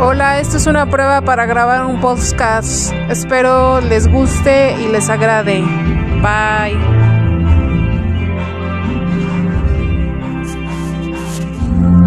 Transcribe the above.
Hola, esto es una prueba para grabar un podcast. Espero les guste y les agrade. Bye.